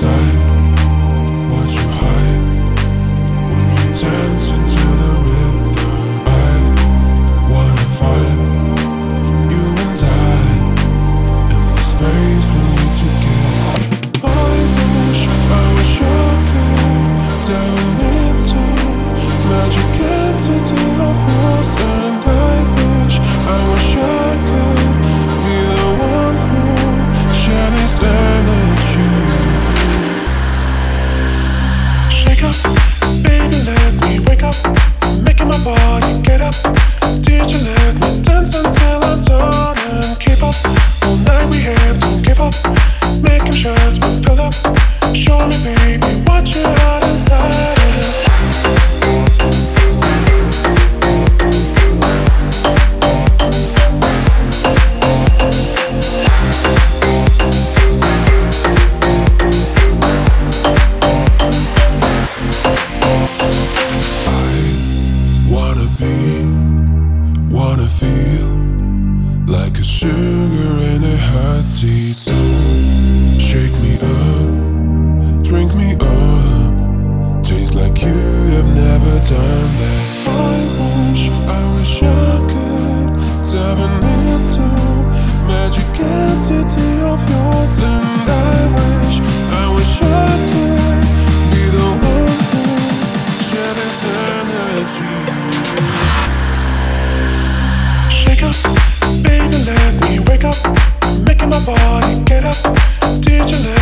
inside what you hide when we dance into the rhythm. I wanna find you and I in the space when we together. I wish I could dive into magic entity of yours, and I wish I could be the one who share this energy with you. Shake up, baby, let me wake up. You're making my body get up. Did you let me dance until I'm done and keep up? All night we have to give up. Making shots we fill up. Show me, baby, what you got inside it. Wanna feel like a sugar in a hot tea. So shake me up, drink me up, taste like you have never done that. I wish I could dive into magic entity of yours, and I wish I could be the one who share this energy with you. Shake up, baby, let me wake up. You're making my body get up. Did you